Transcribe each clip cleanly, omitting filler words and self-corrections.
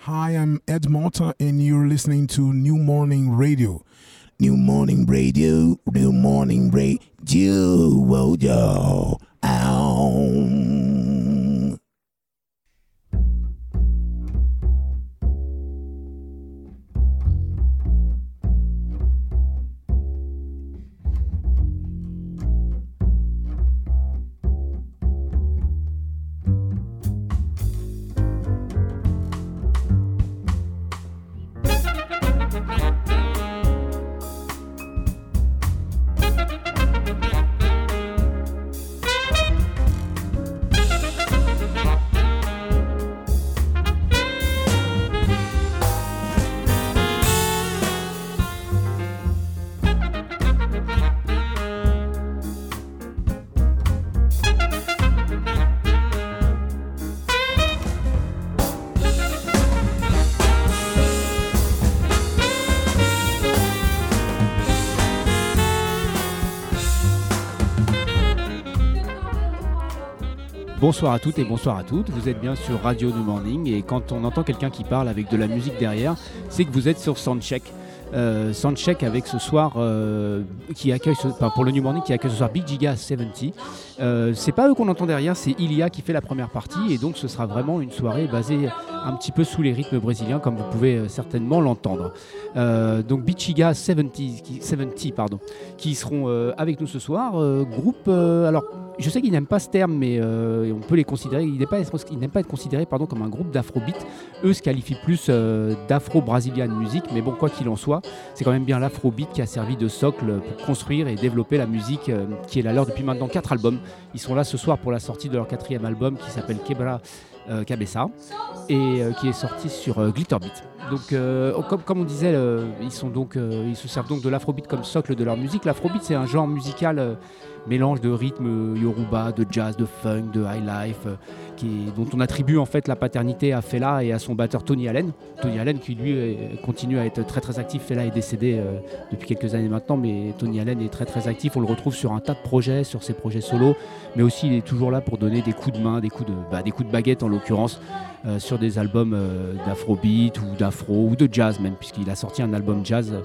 Hi, I'm Ed Malta, and you're listening to New Morning Radio. New Morning Radio, New Morning Radio, oh, yo, ow. Bonsoir à toutes et bonsoir à toutes, vous êtes bien sur Radio New Morning et quand on entend quelqu'un qui parle avec de la musique derrière, c'est que vous êtes sur Soundcheck. Soundcheck avec ce soir qui accueille pour le New Morning qui accueille ce soir Big Giga 70. C'est pas eux qu'on entend derrière, c'est Ilia qui fait la première partie et donc ce sera vraiment une soirée basée un petit peu sous les rythmes brésiliens comme vous pouvez certainement l'entendre. Donc Big Giga 70 qui seront avec nous ce soir. Groupe alors je sais qu'ils n'aiment pas ce terme, mais on peut les considérer. Ils n'aiment pas être considérés comme un groupe d'afrobeat. Eux se qualifient plus d'afro-brazilian music, mais bon, quoi qu'il en soit, c'est quand même bien l'afrobeat qui a servi de socle pour construire et développer la musique qui est la leur depuis maintenant 4 albums. Ils sont là ce soir pour la sortie de leur 4e album qui s'appelle Quebra Cabeça et qui est sorti sur Glitterbeat. Donc, comme on disait, ils se servent donc de l'afrobeat comme socle de leur musique. L'afrobeat, c'est un genre musical mélange de rythme yoruba, de jazz, de funk, de highlife, dont on attribue en fait la paternité à Fela et à son batteur Tony Allen. Tony Allen qui lui continue à être très très actif. Fela est décédé depuis quelques années maintenant, mais Tony Allen est très très actif. On le retrouve sur un tas de projets, sur ses projets solo, mais aussi il est toujours là pour donner des coups de main, des coups de baguette en l'occurrence, sur des albums d'afrobeat ou d'afro ou de jazz même, puisqu'il a sorti un album jazz.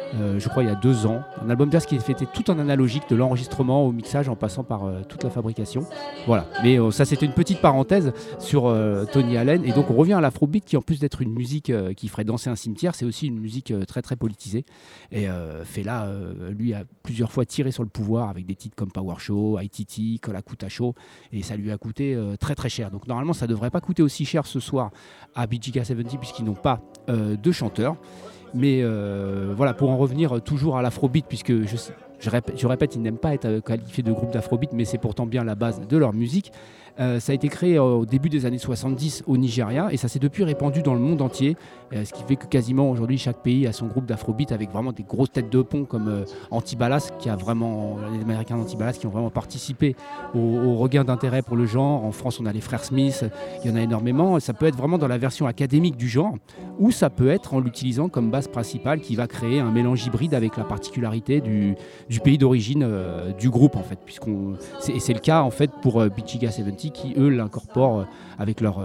Je crois il y a 2 ans, un album jazz qui est fait tout en analogique, de l'enregistrement au mixage en passant par toute la fabrication. Voilà, mais ça c'était une petite parenthèse sur Tony Allen. Et donc on revient à l'afrobeat qui en plus d'être une musique qui ferait danser un cimetière, c'est aussi une musique très très politisée. Et Fela lui a plusieurs fois tiré sur le pouvoir avec des titres comme Power Show, ITT, Kolakuta Show, et ça lui a coûté très très cher. Donc normalement ça devrait pas coûter aussi cher ce soir à Big Giga 70 puisqu'ils n'ont pas de chanteur. Mais voilà, pour en revenir toujours à l'afrobeat, puisque je répète, ils n'aiment pas être qualifiés de groupe d'afrobeat, mais c'est pourtant bien la base de leur musique. Ça a été créé au début des années 70 au Nigeria et ça s'est depuis répandu dans le monde entier, ce qui fait que quasiment aujourd'hui chaque pays a son groupe d'afrobeat avec vraiment des grosses têtes de pont comme Antibalas, les Américains d'Antibalas qui ont vraiment participé au regain d'intérêt pour le genre. En France, on a les frères Smith, il y en a énormément. Ça peut être vraiment dans la version académique du genre ou ça peut être en l'utilisant comme base principale qui va créer un mélange hybride avec la particularité du pays d'origine du groupe en fait, c'est le cas en fait pour Big Giga 70 qui eux l'incorporent avec leur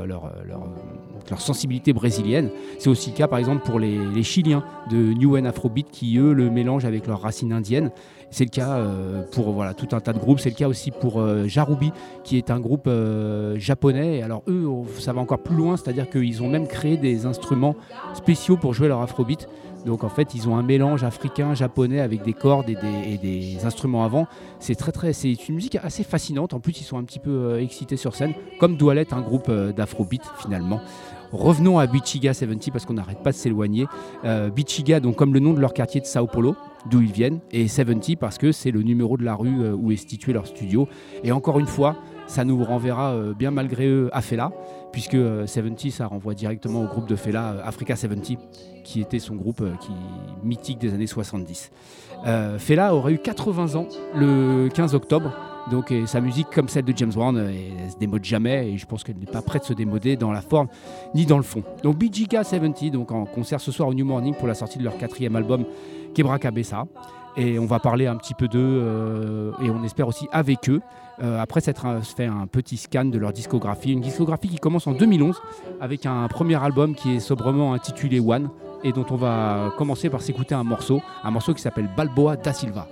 sensibilité brésilienne. C'est aussi le cas par exemple pour les Chiliens de New and Afrobeat qui eux le mélangent avec leurs racines indiennes. C'est le cas pour tout un tas de groupes. C'est le cas aussi pour Jarubi qui est un groupe japonais. Et alors eux ça va encore plus loin, c'est-à-dire qu'ils ont même créé des instruments spéciaux pour jouer leur afrobeat. Donc en fait ils ont un mélange africain-japonais avec des cordes et des instruments avant. C'est une musique assez fascinante. En plus ils sont un petit peu excités sur scène, comme doit l'être un groupe d'afrobeat finalement. Revenons à Big Giga 70 parce qu'on n'arrête pas de s'éloigner. Big Giga, donc comme le nom de leur quartier de Sao Paulo, d'où ils viennent, et 70 parce que c'est le numéro de la rue où est situé leur studio. Et encore une fois, ça nous renverra bien malgré eux à Fela, puisque 70 ça renvoie directement au groupe de Fela, Africa 70, qui était son groupe mythique des années 70. Fela aurait eu 80 ans le 15 octobre. Donc sa musique, comme celle de James Brown, elle se démode jamais et je pense qu'elle n'est pas prête de se démoder dans la forme ni dans le fond. Donc Big Giga 70, donc en concert ce soir au New Morning pour la sortie de leur 4e album Quebra Cabeça. Et on va parler un petit peu d'eux et on espère aussi avec eux. Après s'être fait un petit scan de leur discographie, une discographie qui commence en 2011 avec un premier album qui est sobrement intitulé One et dont on va commencer par s'écouter un morceau qui s'appelle Balboa da Silva.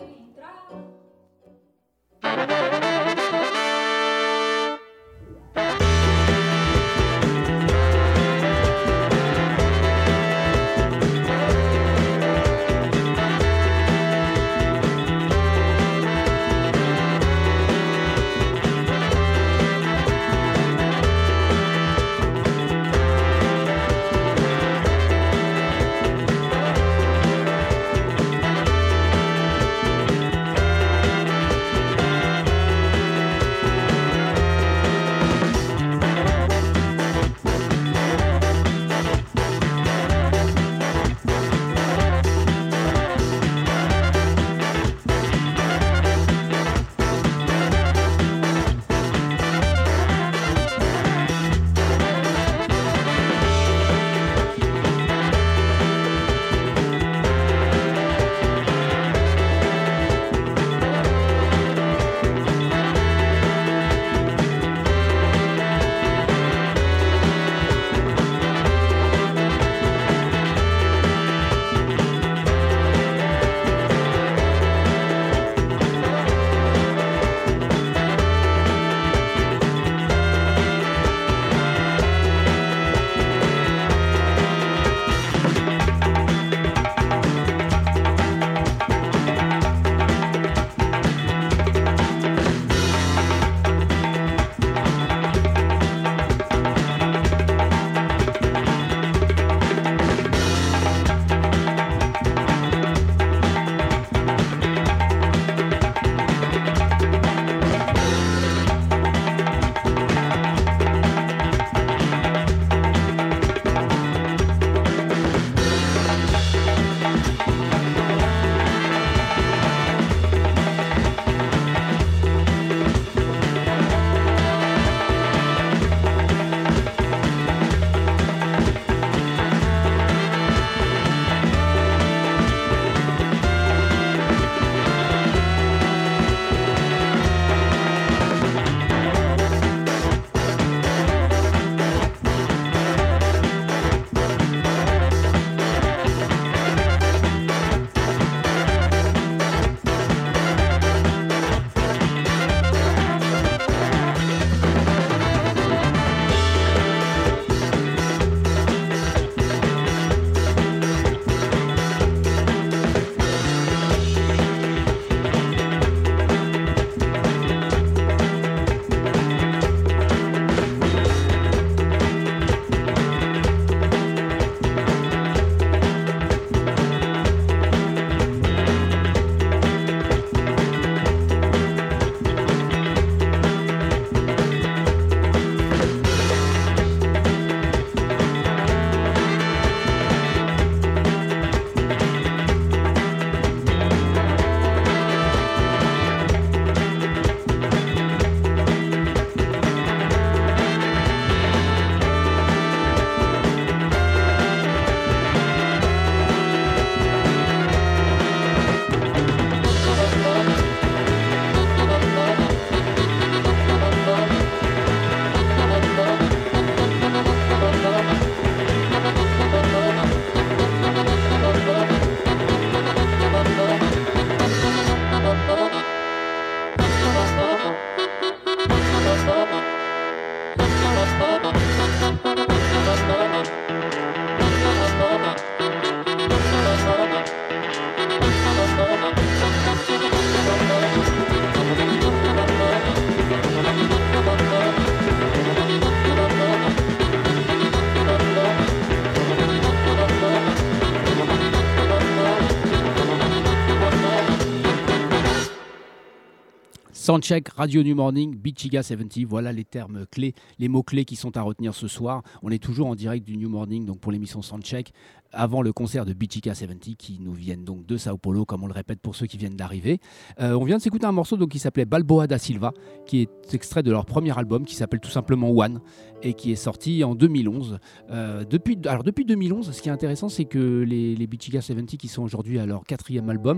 Soundcheck, Radio New Morning, Bichiga 70, voilà les termes clés, les mots-clés qui sont à retenir ce soir. On est toujours en direct du New Morning, donc pour l'émission Soundcheck, avant le concert de Bichiga 70 qui nous viennent donc de Sao Paulo, comme on le répète pour ceux qui viennent d'arriver. On vient de s'écouter un morceau donc, qui s'appelait Balboa da Silva, qui est extrait de leur premier album qui s'appelle tout simplement One et qui est sorti en 2011. Depuis 2011, ce qui est intéressant, c'est que les Bichiga 70 qui sont aujourd'hui à leur 4e album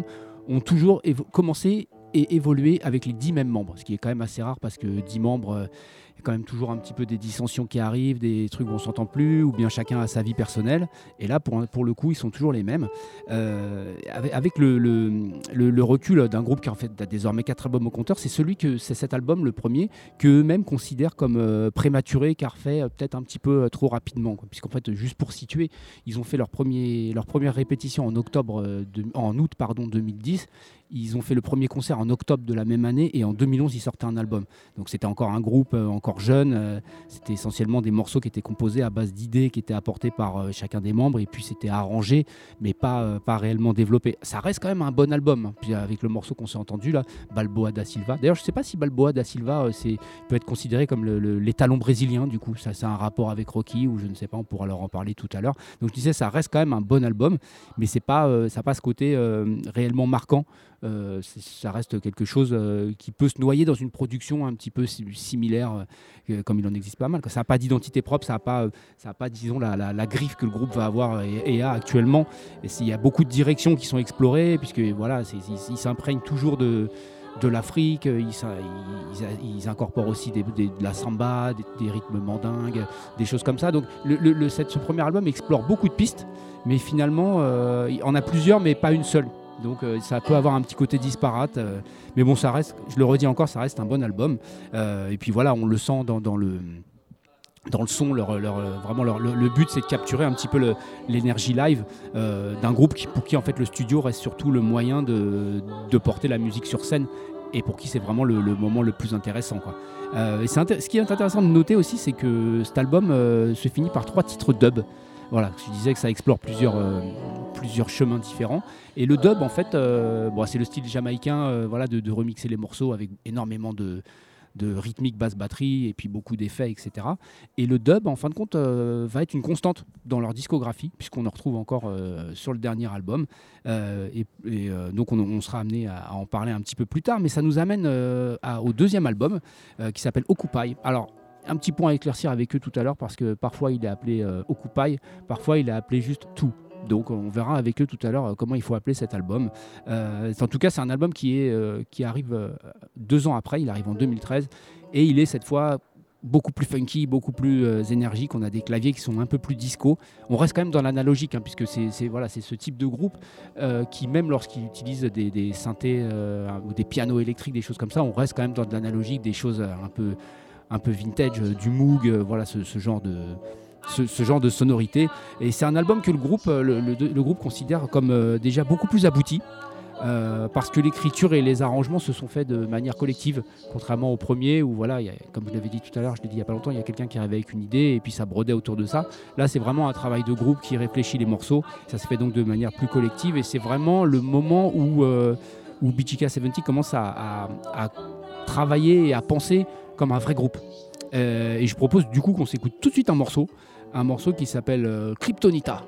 ont toujours commencé et évolué avec les 10 mêmes membres, ce qui est quand même assez rare parce que 10 membres, il y a quand même toujours un petit peu des dissensions qui arrivent, des trucs où on ne s'entend plus, ou bien chacun a sa vie personnelle. Et là, pour le coup, ils sont toujours les mêmes. Avec le recul d'un groupe qui en fait a désormais 4 albums au compteur, c'est cet album, le premier, qu'eux-mêmes considèrent comme prématuré, car fait peut-être un petit peu trop rapidement. Puisqu'en fait, juste pour situer, ils ont fait leur première répétition en août 2010. Ils ont fait le premier concert en octobre de la même année et en 2011, ils sortaient un album. Donc c'était encore un groupe encore jeune. C'était essentiellement des morceaux qui étaient composés à base d'idées qui étaient apportées par chacun des membres et puis c'était arrangé, mais pas réellement développé. Ça reste quand même un bon album. Hein. Puis avec le morceau qu'on s'est entendu là, Balboa da Silva. D'ailleurs, je ne sais pas si Balboa da Silva peut être considéré comme l'étalon brésilien. Du coup, ça c'est un rapport avec Rocky ou je ne sais pas. On pourra leur en parler tout à l'heure. Donc je disais, ça reste quand même un bon album, mais ça n'a pas ce côté réellement marquant. Ça reste quelque chose qui peut se noyer dans une production un petit peu similaire, comme il en existe pas mal. Ça n'a pas d'identité propre, ça n'a pas disons, la griffe que le groupe va avoir et a actuellement. Et il y a beaucoup de directions qui sont explorées, puisque voilà, ils s'imprègnent toujours de l'Afrique, ils incorporent aussi de la samba, des rythmes mandingues, des choses comme ça. Donc ce premier album explore beaucoup de pistes, mais finalement, il en a plusieurs, mais pas une seule. Donc ça peut avoir un petit côté disparate, mais bon, ça reste, je le redis encore, ça reste un bon album. Et puis voilà, on le sent dans le son, vraiment le but c'est de capturer un petit peu l'énergie live d'un groupe pour qui en fait le studio reste surtout le moyen de porter la musique sur scène et pour qui c'est vraiment le moment le plus intéressant, quoi. Et ce qui est intéressant de noter aussi, c'est que cet album se finit par 3 titres dub. Voilà, je disais que ça explore plusieurs chemins différents. Et le dub, en fait, c'est le style jamaïcain de remixer les morceaux avec énormément de rythmique, basse batterie et puis beaucoup d'effets, etc. Et le dub, en fin de compte, va être une constante dans leur discographie, puisqu'on en retrouve encore sur le dernier album. Donc on sera amené à en parler un petit peu plus tard, mais ça nous amène au deuxième album qui s'appelle Occupy. Alors, un petit point à éclaircir avec eux tout à l'heure, parce que parfois il est appelé Occupy, parfois il est appelé juste Tout. Donc on verra avec eux tout à l'heure comment il faut appeler cet album. En tout cas, c'est un album qui arrive 2 ans après, il arrive en 2013, et il est cette fois beaucoup plus funky, beaucoup plus énergique. On a des claviers qui sont un peu plus disco. On reste quand même dans l'analogique, puisque c'est ce type de groupe qui, même lorsqu'il utilise des synthés ou des pianos électriques, des choses comme ça, on reste quand même dans de l'analogique, des choses un peu vintage, du Moog, ce genre de sonorité. Et c'est un album que le groupe considère comme déjà beaucoup plus abouti, parce que l'écriture et les arrangements se sont faits de manière collective, contrairement au premier où comme je l'avais dit tout à l'heure, je l'ai dit il n'y a pas longtemps, il y a quelqu'un qui arrivait avec une idée et puis ça brodait autour de ça. Là, c'est vraiment un travail de groupe qui réfléchit les morceaux. Ça se fait donc de manière plus collective et c'est vraiment le moment où BGK70 commence à travailler et à penser comme un vrai groupe. Et je propose du coup qu'on s'écoute tout de suite un morceau qui s'appelle Kryptonita.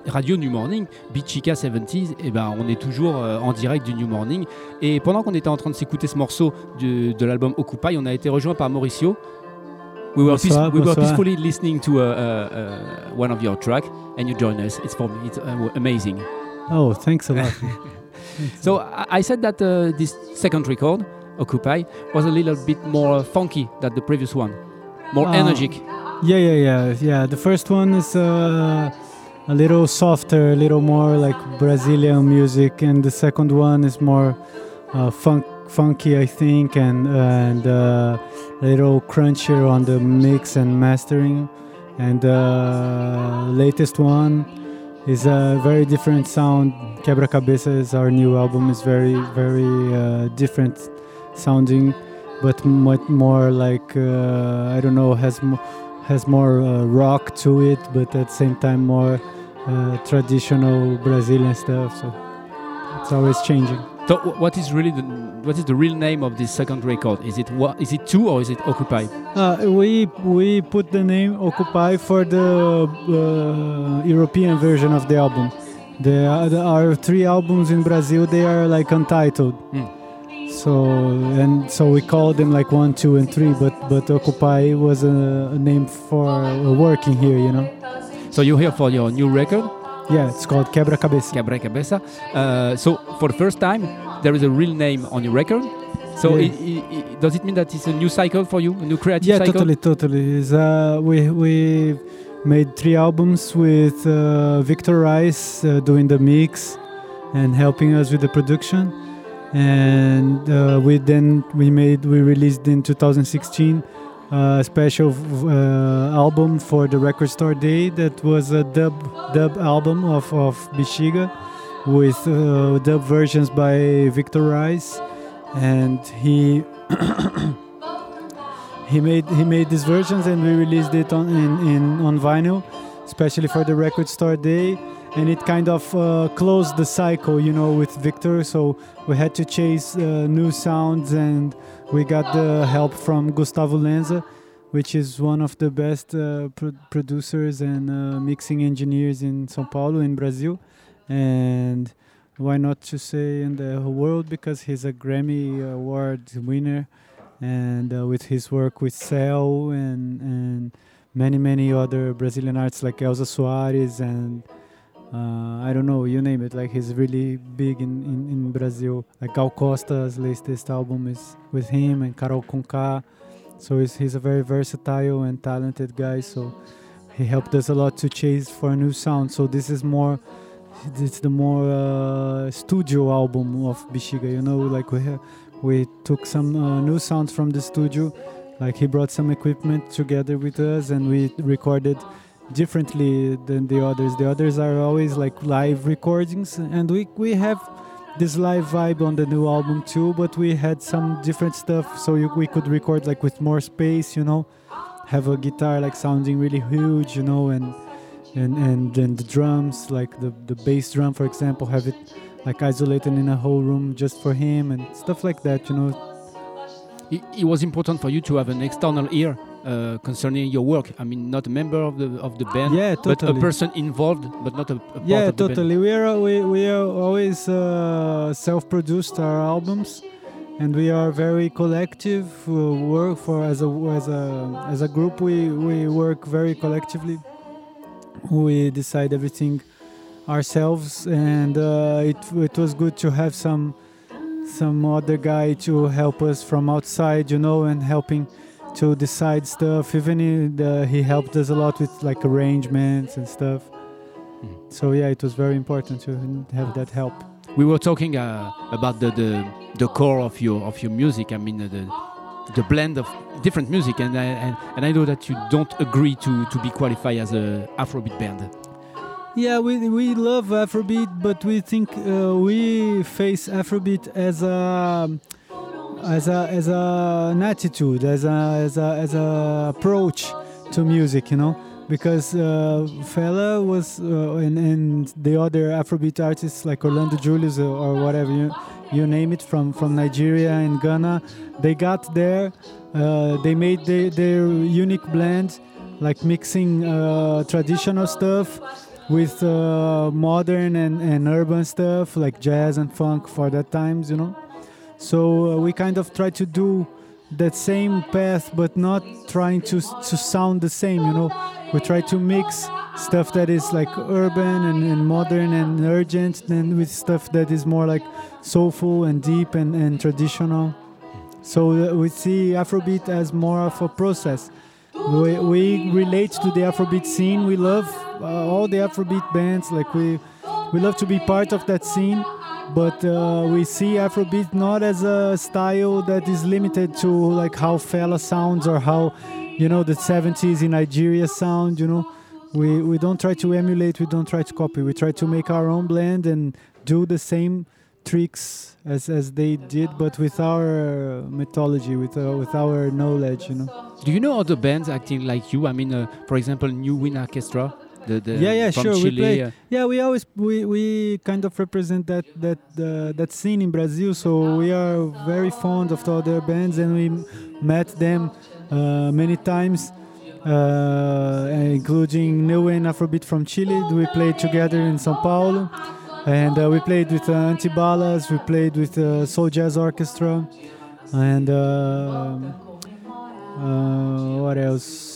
Radio New Morning, Beat Chica 70s, et ben on est toujours en direct du New Morning. Et pendant qu'on était en train de s'écouter ce morceau de l'album Occupy, on a été rejoint par Mauricio. We were peacefully listening to one of your tracks, and you joined us. It's amazing. Oh, thanks a lot. So I said that this second record, Occupy, was a little bit more funky than the previous one, more energetic. Yeah. The first one is a little softer, a little more like Brazilian music, and the second one is more funky, I think, and a little crunchier on the mix and mastering. And the latest one is a very different sound. Quebra Cabeça is our new album. Is very, very different sounding, but much more like I don't know, has more rock to it, but at the same time more traditional Brazilian stuff. So it's always changing. So what is the real name of this second record? Is it 2 or is it Occupy? We put the name Occupy for the European version of the album. Our 3 albums in Brazil, they are like untitled. So we called them like 1, 2, and 3, but Occupy was a name for working here, you know. So you're here for your new record? Yeah, it's called Quebra Cabeça. Quebra Cabeça. So for the first time, there is a real name on your record. So does it mean that it's a new cycle for you, a new creative cycle? Yeah, totally. We made 3 albums with Victor Rice doing the mix and helping us with the production. And we released in 2016 a special album for the Record Store Day that was a dub album of Bexiga with dub versions by Victor Rice, and he made these versions, and we released it on vinyl, especially for the Record Store Day. And it kind of closed the cycle, you know, with Victor. So we had to chase new sounds, and we got the help from Gustavo Lenza, which is one of the best producers and mixing engineers in São Paulo, in Brazil. And why not to say in the whole world, because he's a Grammy Award winner. And with his work with Cell and many other Brazilian artists like Elza Soares and I don't know, you name it. Like, he's really big in Brazil. Like Gal Costa's latest album is with him, and Carol Conká. So he's a very versatile and talented guy. So he helped us a lot to chase for a new sound. So it's the more studio album of Bexiga. You know, like we took some new sounds from the studio. Like, he brought some equipment together with us, and we recorded differently than the others. The others are always like live recordings, and we have this live vibe on the new album too, but we had some different stuff, so we could record like with more space, you know, have a guitar like sounding really huge, you know, and the drums, like the bass drum, for example, have it like isolated in a whole room just for him and stuff like that, you know. It was important for you to have an external ear concerning your work. I mean, not a member of the band, yeah, totally. But a person involved, but not a part of the totally. band. We are always self-produced our albums, and we are very collective. Work for as a group. We work very collectively. We decide everything ourselves, and it was good to have some other guy to help us from outside, you know, and helping to decide stuff. Even he helped us a lot with like arrangements and stuff. So yeah, it was very important to have that help. We were talking about the core of your music. I mean, the blend of different music, and I know that you don't agree to be qualified as a Afrobeat band. Yeah, we love Afrobeat, but we think we face Afrobeat as an attitude, as a approach to music, you know, because Fela was and the other Afrobeat artists like Orlando Julius or whatever you name it from Nigeria and Ghana, they got there, they made their unique blend, like mixing traditional stuff with modern and urban stuff like jazz and funk for that times, you know. So we kind of try to do that same path, but not trying to sound the same, you know. We try to mix stuff that is like urban and modern and urgent, and with stuff that is more like soulful and deep and traditional. So we see Afrobeat as more of a process. We relate to the Afrobeat scene. We love all the Afrobeat bands. Like we love to be part of that scene. But we see Afrobeat not as a style that is limited to like how Fela sounds or how, you know, the 70s in Nigeria sound, you know. We don't try to emulate, we don't try to copy. We try to make our own blend and do the same tricks as they did, but with our mythology, with our knowledge, you know. Do you know other bands acting like you? I mean, for example, New Wind Orchestra. Yeah, from sure. Chile. We play. Yeah, we kind of represent that scene in Brazil. So we are very fond of the other bands, and we met them many times, including New Wave Afrobeat from Chile. We played together in São Paulo, and we played with Antibalas. We played with Soul Jazz Orchestra, and what else?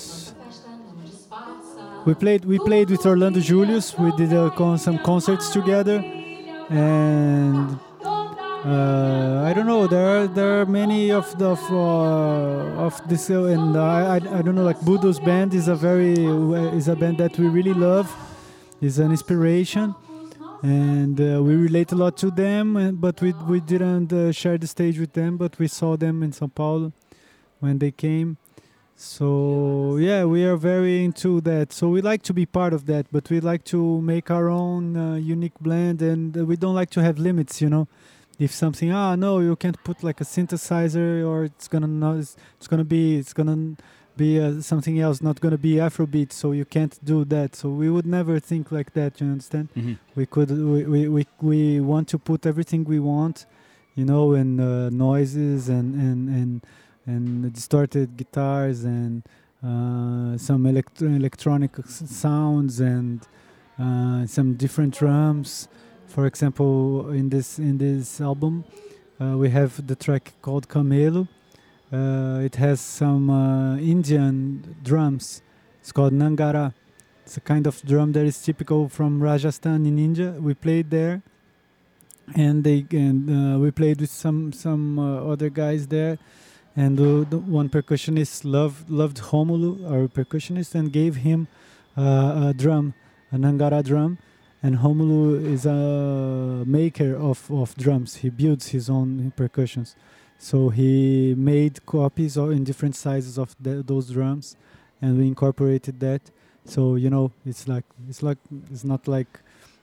We played with Orlando Julius. We did some concerts together, and I don't know. There are many of this, and I don't know. Like Budo's band is a band that we really love. Is an inspiration, and we relate a lot to them. But we didn't share the stage with them. But we saw them in São Paulo when they came. So yeah, we are very into that. So we like to be part of that, but we like to make our own unique blend, and we don't like to have limits, you know. If something, no, you can't put like a synthesizer, or it's gonna be something else, not gonna be Afrobeat, so you can't do that. So we would never think like that. You understand? Mm-hmm. We want to put everything we want, you know, and noises and distorted guitars and some electronic sounds and some different drums. For example, in this album, we have the track called Camelo. It has some Indian drums. It's called Nangara. It's a kind of drum that is typical from Rajasthan in India. We played there, and we played with some other guys there. And the one percussionist loved Romulo, our percussionist, and gave him a drum, a Nangara drum. And Romulo is a maker of drums. He builds his own percussions. So he made copies in different sizes of those drums, and we incorporated that. So, you know, it's not like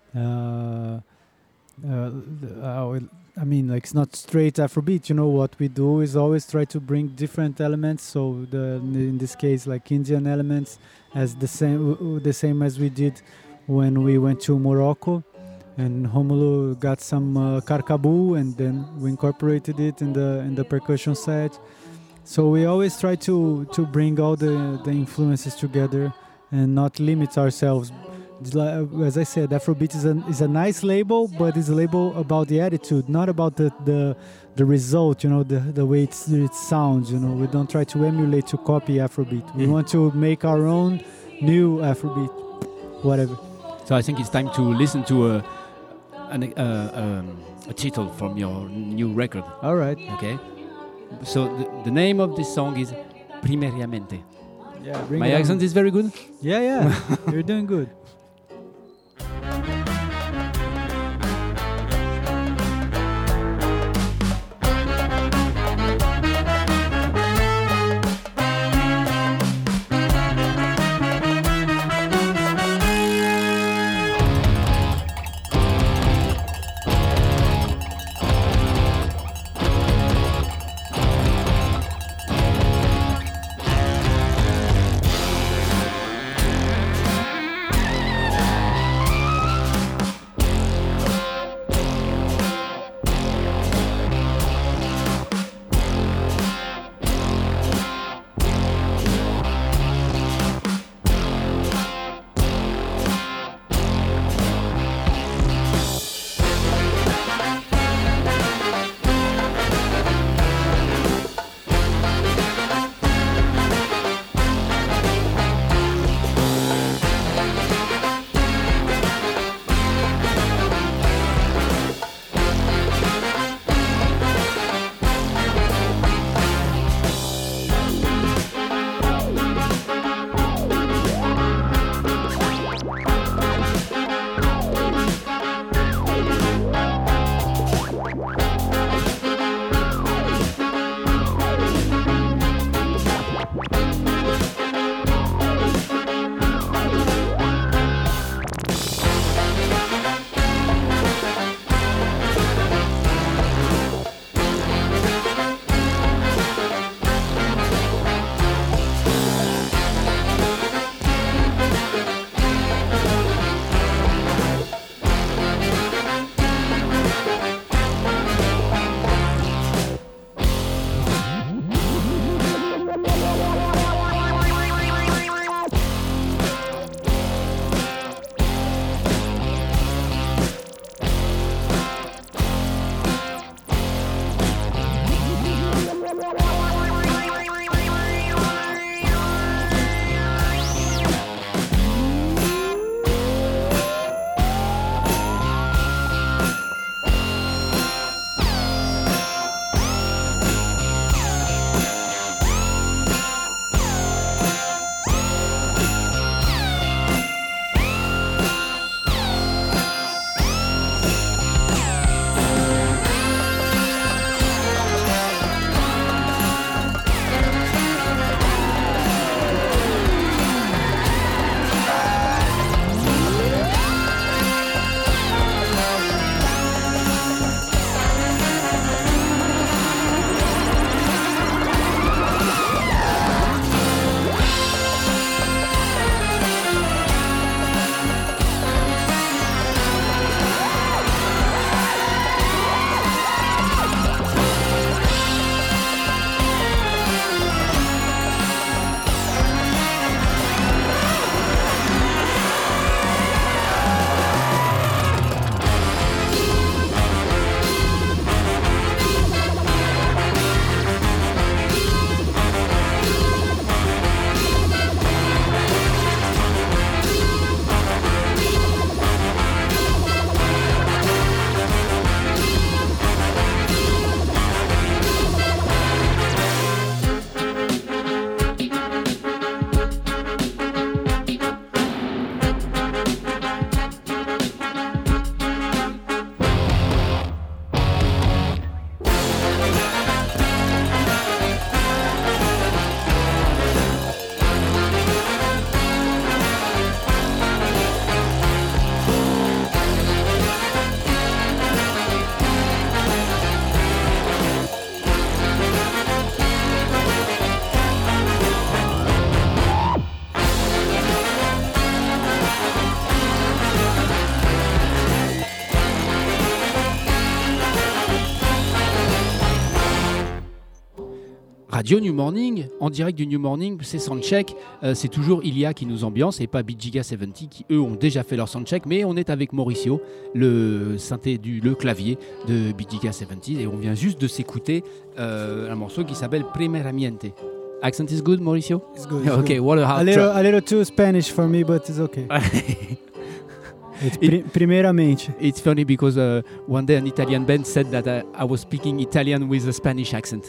I mean, like, it's not straight Afrobeat. You know, what we do is always try to bring different elements. So in this case, like Indian elements, as the same as we did when we went to Morocco, and Romulo got some karkabu, and then we incorporated it in the percussion set. So we always try to bring all the influences together and not limit ourselves. As I said, Afrobeat is a nice label, but it's a label about the attitude, not about the result, you know, the way it sounds. You know, we don't try to emulate, to copy Afrobeat. We want to make our own new Afrobeat, whatever. So I think it's time to listen to a title from your new record. All right. Okay. So the name of this song is Primariamente. Yeah. My accent is very good? Yeah. You're doing good. Radio New Morning, en direct du New Morning, c'est Soundcheck. C'est toujours Ilia qui nous ambiance et pas Bijiga 70 qui eux ont déjà fait leur Soundcheck. Mais on est avec Mauricio, le clavier de Bijiga 70 et on vient juste de s'écouter un morceau qui s'appelle Primeramente. Accent is good, Mauricio? It's good. Okay, what a hard a little too Spanish for me, but it's okay. It's primeramente. It's funny because one day an Italian band said that I was speaking Italian with a Spanish accent.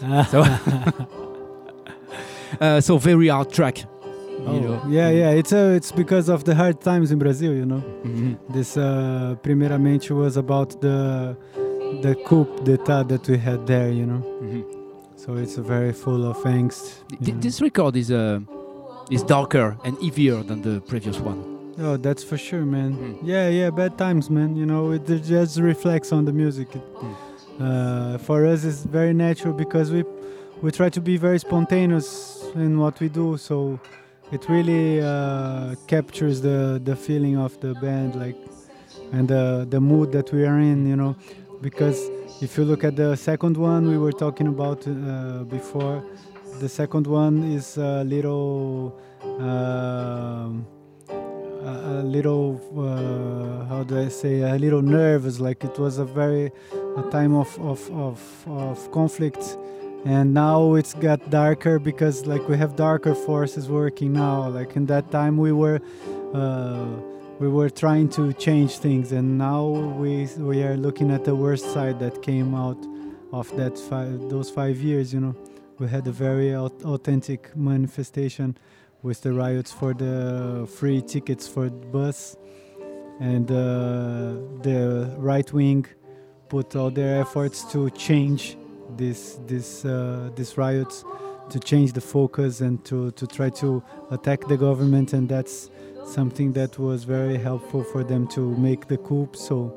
So very hard track. Yeah. It's because of the hard times in Brazil, you know. Mm-hmm. This primeramente was about the coup d'état that we had there, you know. Mm-hmm. So it's very full of angst. This record is darker and heavier than the previous one. Oh, that's for sure, man. Yeah, bad times, man. You know, it just reflects on the music. For us, it's very natural because we try to be very spontaneous in what we do. So it really captures the feeling of the band, like, and the mood that we are in. You know, because if you look at the second one we were talking about before, the second one is a little. How do I say, a little nervous, like it was a time of conflict, and now it's got darker because like we have darker forces working now. Like in that time we were trying to change things, and now we are looking at the worst side that came out of those 5 years. You know, we had a very authentic manifestation with the riots for the free tickets for the bus, and the right wing put all their efforts to change these riots, to change the focus and to try to attack the government, and that's something that was very helpful for them to make the coup. So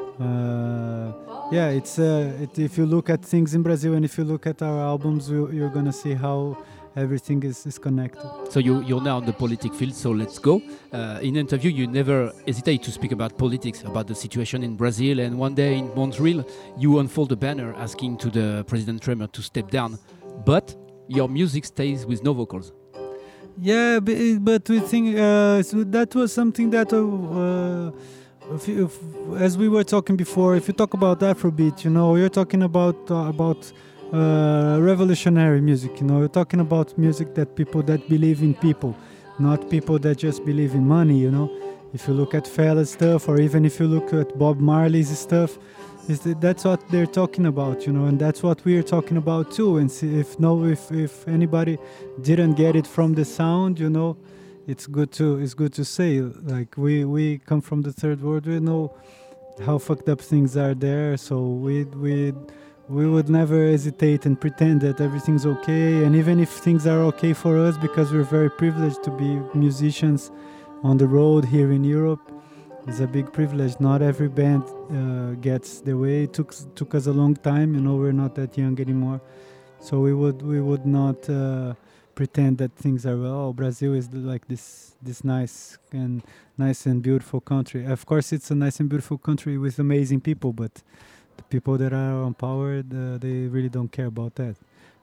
if you look at things in Brazil and if you look at our albums, you're gonna see how everything is connected. So you're now on the politic field, so let's go. In interview, you never hesitate to speak about politics, about the situation in Brazil, and one day in Montreal, you unfold a banner asking to the President Temer to step down, but your music stays with no vocals. Yeah, but we think so that was something that, as we were talking before, if you talk about Afrobeat, you know, you're talking about revolutionary music, you know, you're talking about music that people that believe in people, not people that just believe in money, you know. If you look at Fella's stuff, or even if you look at Bob Marley's stuff, that's what they're talking about, you know, and that's what we're talking about too. And see, if anybody didn't get it from the sound, you know, it's good to say, like we come from the third world, we know how fucked up things are there, so we would never hesitate and pretend that everything's okay. And even if things are okay for us, because we're very privileged to be musicians on the road here in Europe, it's a big privilege. Not every band gets the way. It took us a long time, you know, we're not that young anymore. So we would not pretend that things are well. Oh, Brazil is like this nice and beautiful country. Of course it's a nice and beautiful country with amazing people, but the people that are on power, they really don't care about that.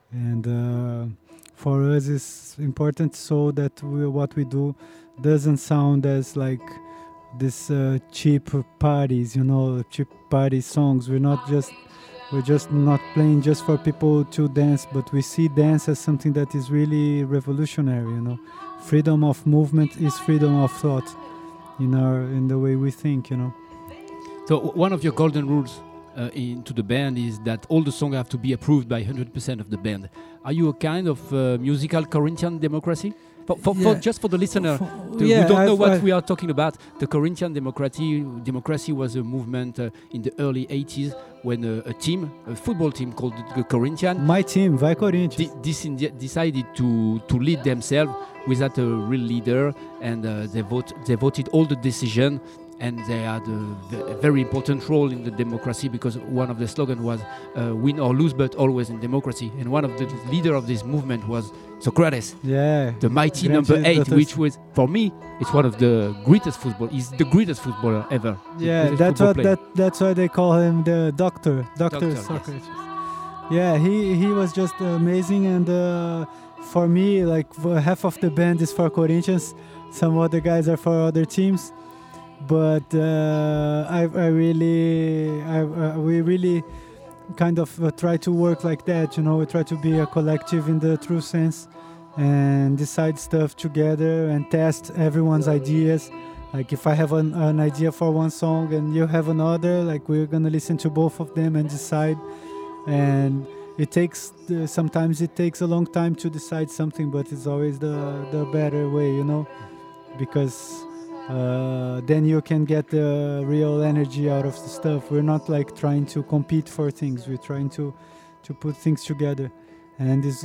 And for us it's important so that what we do doesn't sound as like this cheap parties, you know, cheap party songs. We're just not playing just for people to dance, but we see dance as something that is really revolutionary, you know. Freedom of movement is freedom of thought in the way we think, you know. So one of your golden rules into the band is that all the songs have to be approved by 100% of the band. Are you a kind of musical Corinthian democracy? Just for the listener who don't know what we are talking about, the Corinthian democracy was a movement in the early 80s when a football team called the Corinthian, my team, Vai Corinthians, decided to lead themselves without a real leader, and they voted all the decision. And they had a very important role in the democracy, because one of the slogans was win or lose, but always in democracy. And one of the leader of this movement was Socrates, the mighty number 8, which was, for me, it's one of the greatest he's the greatest footballer ever. Yeah, that's why they call him the Doctor Socrates. Yeah, he was just amazing, and for me, like half of the band is for Corinthians, some other guys are for other teams, but we really kind of try to work like that, you know. We try to be a collective in the true sense and decide stuff together and test everyone's ideas. Like if I have an idea for one song and you have another, like we're gonna listen to both of them and decide. And it takes sometimes it takes a long time to decide something, but it's always the better way, you know, because then you can get the real energy out of the stuff. We're not like trying to compete for things. We're trying to put things together, and it's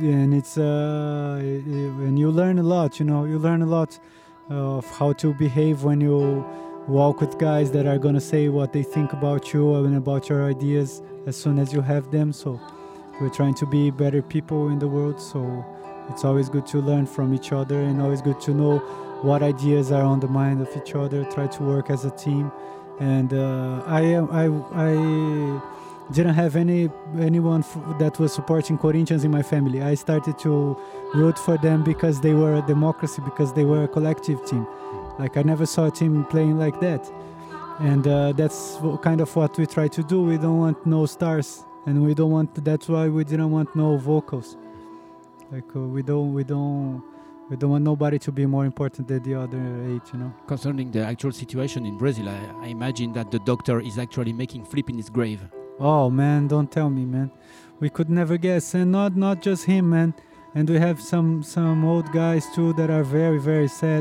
and you learn a lot. You know, you learn a lot of how to behave when you walk with guys that are gonna say what they think about you and about your ideas as soon as you have them. So we're trying to be better people in the world. So it's always good to learn from each other, and always good to know what ideas are on the mind of each other. Try to work as a team. And I didn't have anyone that was supporting Corinthians in my family. I started to root for them because they were a democracy, because they were a collective team. Like I never saw a team playing like that. And that's kind of what we try to do. We don't want no stars, and we don't want. That's why we didn't want no vocals. Like we don't want nobody to be more important than the other 8. You know. Concerning the actual situation in Brazil, I imagine that the doctor is actually making flip in his grave. Oh man, don't tell me, man. We could never guess, and not just him, man. And we have some old guys too that are very, very sad.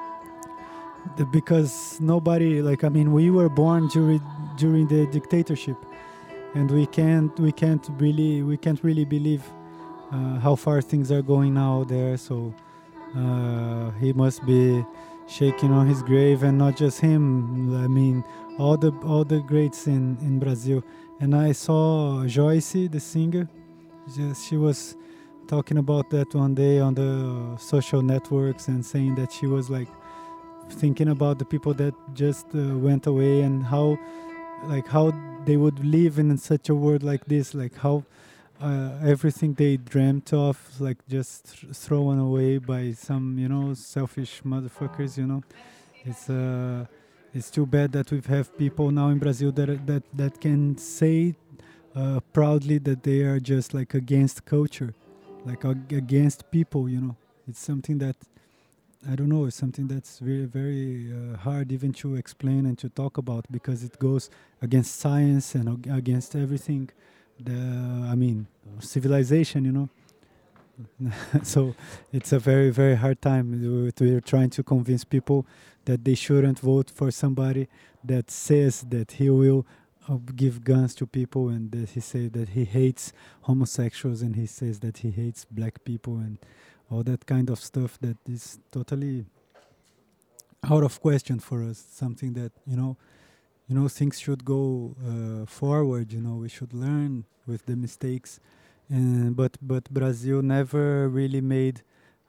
Because nobody, like, I mean, we were born during the dictatorship, and we can't really believe how far things are going now there. So he must be shaking on his grave, and not just him. I mean, all the greats in Brazil. And I saw Joyce, the singer. She was talking about that one day on the social networks and saying that she was like thinking about the people that just went away, and how they would live in such a world like this, like how everything they dreamt of, like just thrown away by some, you know, selfish motherfuckers, you know. It's too bad that we have people now in Brazil that can say proudly that they are just like against culture, like against people, you know. It's something that, I don't know, it's something that's very, very hard even to explain and to talk about, because it goes against science and against everything. Civilization, you know. So it's a very, very hard time. We're trying to convince people that they shouldn't vote for somebody that says that he will give guns to people, and that he says that he hates homosexuals, and he says that he hates black people, and all that kind of stuff that is totally out of question for us. Something that, you know, things should go forward. You know, we should learn with the mistakes, but Brazil never really made,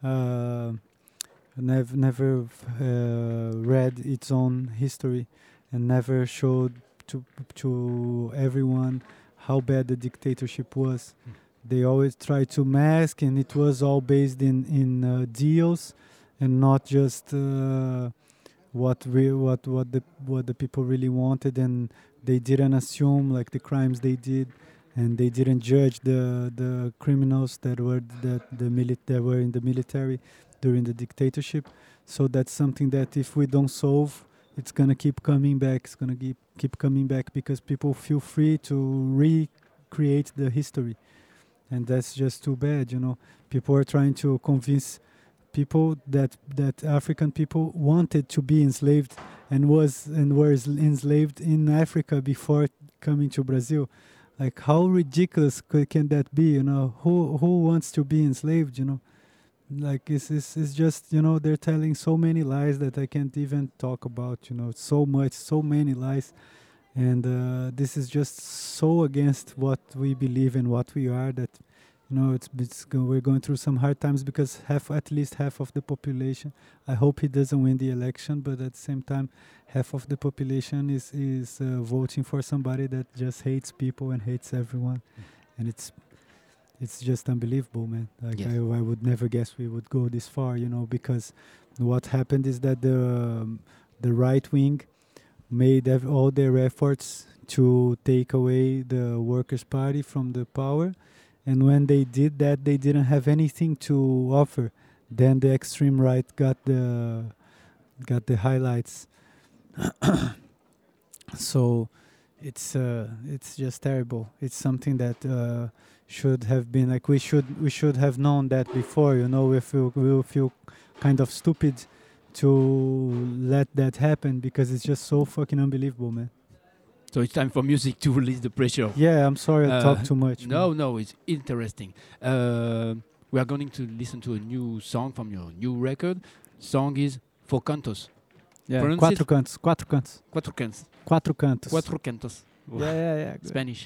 never read its own history, and never showed to everyone how bad the dictatorship was. They always try to mask, and it was all based in deals, and not just what the people really wanted. And they didn't assume like the crimes they did, and they didn't judge the criminals that were that were in the military during the dictatorship. So that's something that if we don't solve, it's gonna keep coming back. It's gonna keep coming back, because people feel free to recreate the history. And that's just too bad, you know. People are trying to convince people that African people wanted to be enslaved and were enslaved in Africa before coming to Brazil. Like, how ridiculous can that be, you know? Who wants to be enslaved, you know? Like, it's just, you know, they're telling so many lies that I can't even talk about, you know. So many lies. And this is just so against what we believe and what we are, that, you know, we're going through some hard times, because at least half of the population, I hope he doesn't win the election, but at the same time, half of the population is voting for somebody that just hates people and hates everyone. And it's just unbelievable, man. Like Yes. I would never guess we would go this far, because what happened is that the right wing made all their efforts to take away the Workers' Party from the power, and when they did that, they didn't have anything to offer. Then the extreme right got the highlights. So it's just terrible. It's something that should have been like we should have known that before. We feel kind of stupid to let that happen because it's just so fucking unbelievable, man. So it's time for music to release the pressure. Yeah, I'm sorry I talk too much. No, it's interesting. We are going to listen to a new song from your new record. Song is Four Cantos. Yeah, Pronounce quatro it. cantos. Quatro cantos. Quatro cantos. Quatro cantos. Yeah. Good. Spanish.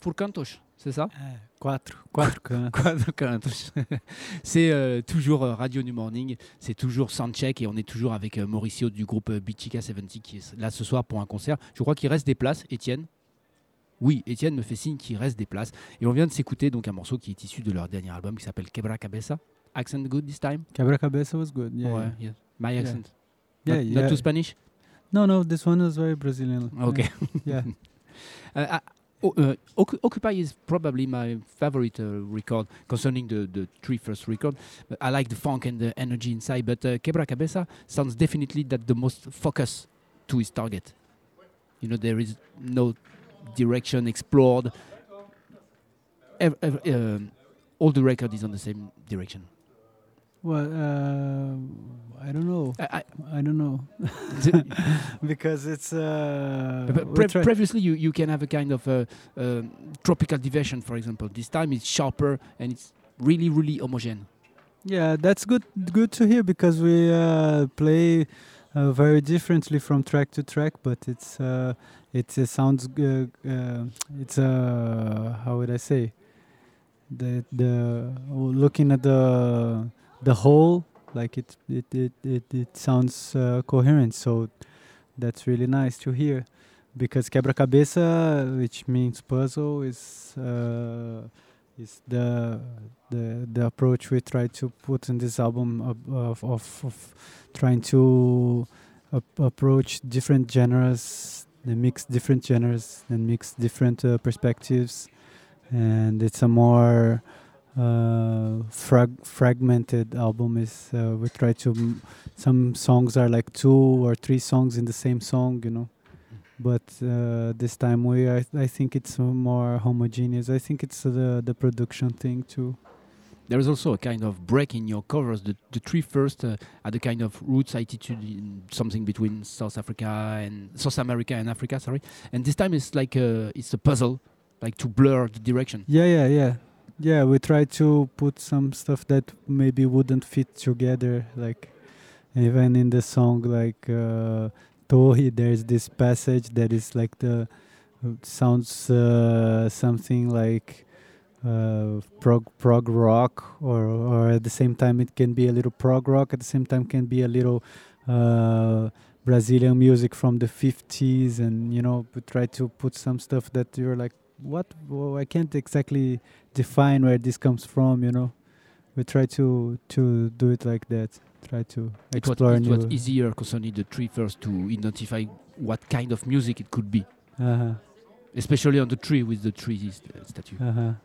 4 cantos, c'est ça? Quatre cantos. Quatre cantos. C'est toujours Radio New Morning, c'est toujours Soundcheck et on est toujours avec Mauricio du groupe Bichica 70 qui est là ce soir pour un concert. Je crois qu'il reste des places, Étienne. Oui, Étienne me fait signe qu'il reste des places. Et on vient de s'écouter donc un morceau qui est issu de leur dernier album qui s'appelle Quebra Cabeza. Accent good this time? Quebra Cabeça was good. Yeah. Ouais, yeah. My accent. Yeah, Not, yeah. not too Spanish? No, this one is very Brazilian. Okay. Yeah. Occupy is probably my favorite record concerning the three first record. I like the funk and the energy inside, but Quebra Cabeza sounds definitely that the most focus to his target. You know, there is no direction explored. All the record is on the same direction. Well, I don't know. I don't know. Because it's Previously you can have a kind of tropical diversion, for example. This time it's sharper and it's really homogeneous. Yeah, that's good to hear, because we play very differently from track to track, but it sounds it's how would I say, the looking at the whole, like it sounds coherent, so that's really nice to hear. Because Quebra-Cabeça, which means puzzle, is the approach we try to put in this album of trying to approach different genres, mix different genres and mix different perspectives, and it's a more fragmented album. Is we try to some songs are like 2 or 3 songs in the same song, you know. But this time I think it's more homogeneous. I think it's the production thing too. There is also a kind of break in your covers. The three first had a kind of roots attitude in something between South America and Africa. Sorry, and this time it's like it's a puzzle, like to blur the direction. Yeah. We try to put some stuff that maybe wouldn't fit together. Like even in the song, like Tohi, there's this passage that is like sounds something like prog rock, or at the same time it can be a little prog rock, at the same time can be a little Brazilian music from the 50s, and you know, we try to put some stuff that you're like, what? Well, I can't exactly define where this comes from, you know. We try to do it like that. Try to explore. It was easier concerning the three first to identify what kind of music it could be, especially on the tree with the tree statue.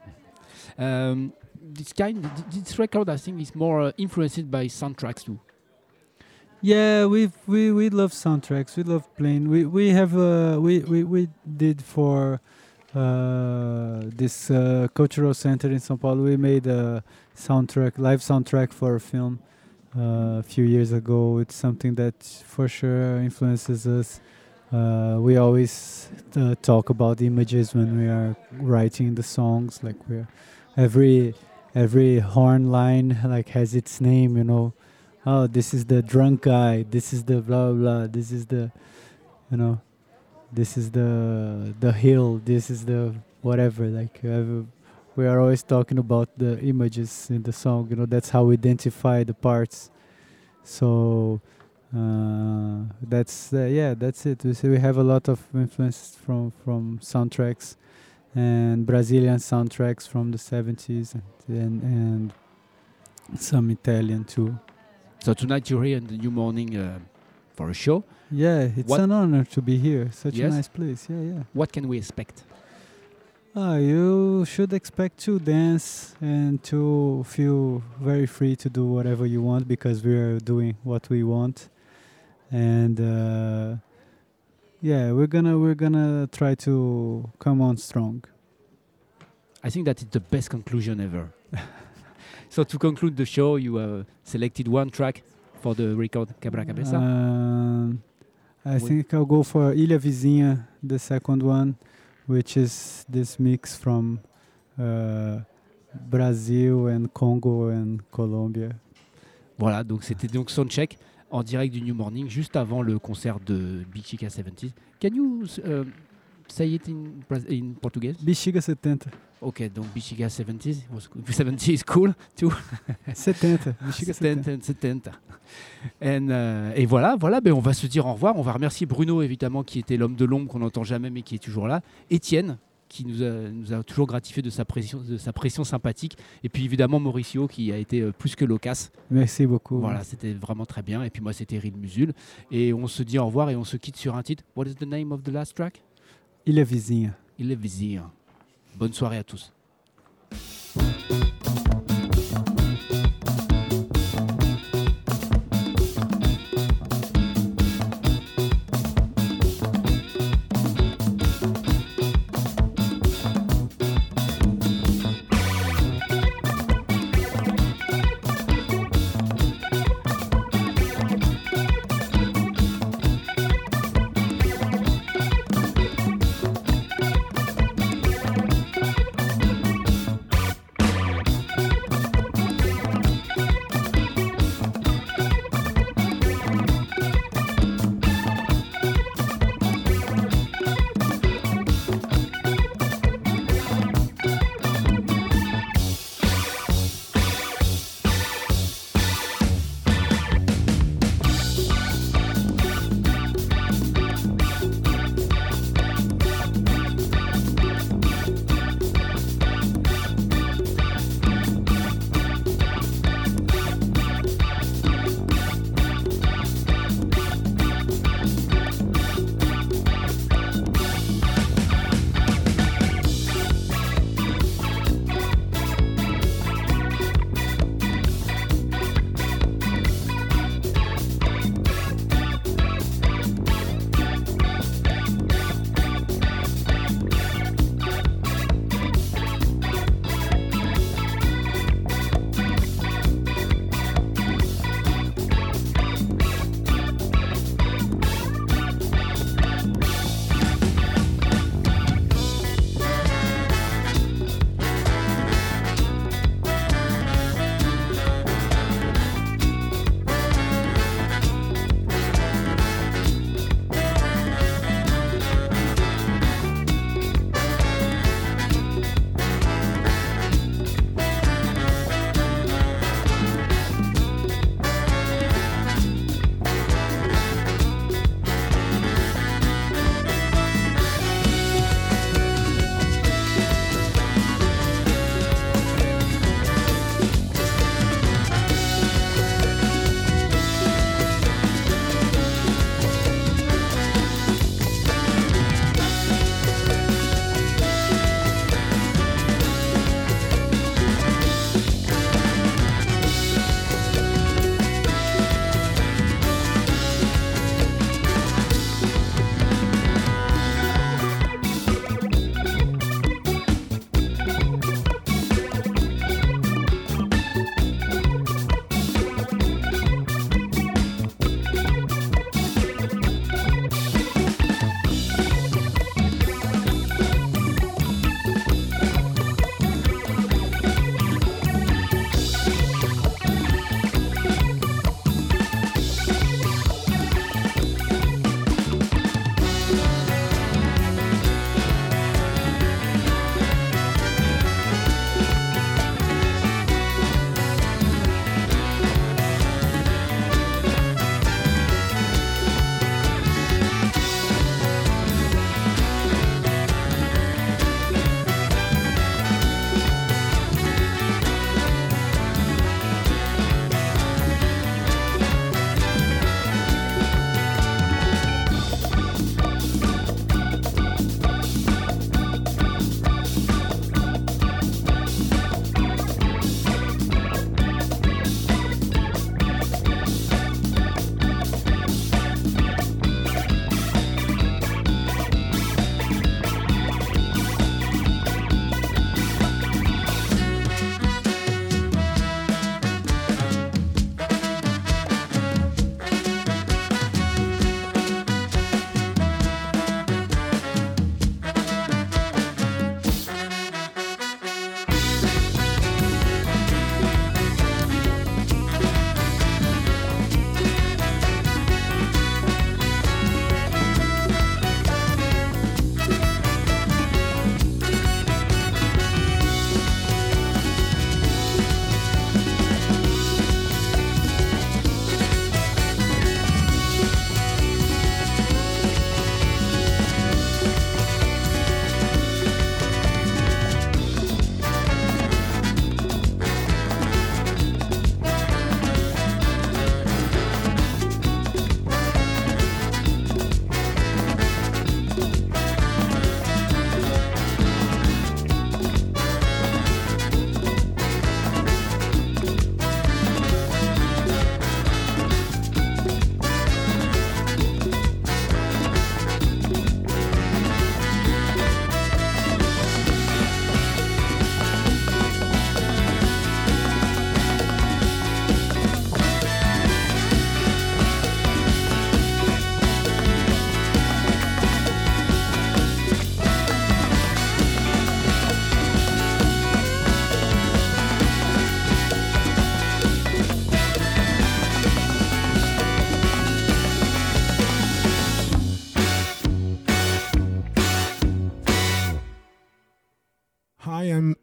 This record, I think, is more influenced by soundtracks too. Yeah, we love soundtracks. We love playing. We have we did for this cultural center in São Paulo. We made a live soundtrack for a film a few years ago. It's something that for sure influences us. We always talk about images when we are writing the songs. Like every horn line like has its name, you know. Oh, this is the drunk guy. This is the blah blah. This is the, you know, this is the hill. This is the whatever. Like we are always talking about the images in the song. You know, that's how we identify the parts. So that's it. We have a lot of influence from soundtracks and Brazilian soundtracks from the 70s and some Italian too. So tonight you're here in the New Morning for a show. Yeah, it's an honor to be here. Such yes? a nice place. Yeah. What can we expect? You should expect to dance and to feel very free to do whatever you want, because we are doing what we want. And we're gonna try to come on strong. I think that is the best conclusion ever. So to conclude the show, you selected one track for the record Quebra Cabeça. I think I'll go for Ilha Vizinha, the second one, which is this mix from Brazil and Congo and Colombia. Voilà, donc c'était donc Soundcheck en direct du New Morning, juste avant le concert de Bichica 70s. Can you say it in Portuguese? Bexiga 70. Okay, donc Bexiga 70 70 is cool too. 70. Bexiga 70. 70. Et voilà, ben on va se dire au revoir. On va remercier Bruno, évidemment, qui était l'homme de l'ombre qu'on n'entend jamais, mais qui est toujours là. Étienne, qui nous a toujours gratifié de sa pression sympathique. Et puis évidemment Mauricio, qui a été plus que loquace. Merci beaucoup. Voilà, c'était vraiment très bien. Et puis moi, c'était Ril Musul. Et on se dit au revoir et on se quitte sur un titre. What is the name of the last track? Ilha Vizinha. Ilha Vizinha. Bonne soirée à tous.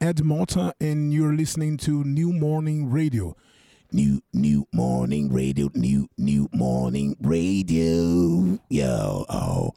Ed Malta, and you're listening to New Morning Radio. New Morning Radio, New Morning Radio. Yo, oh,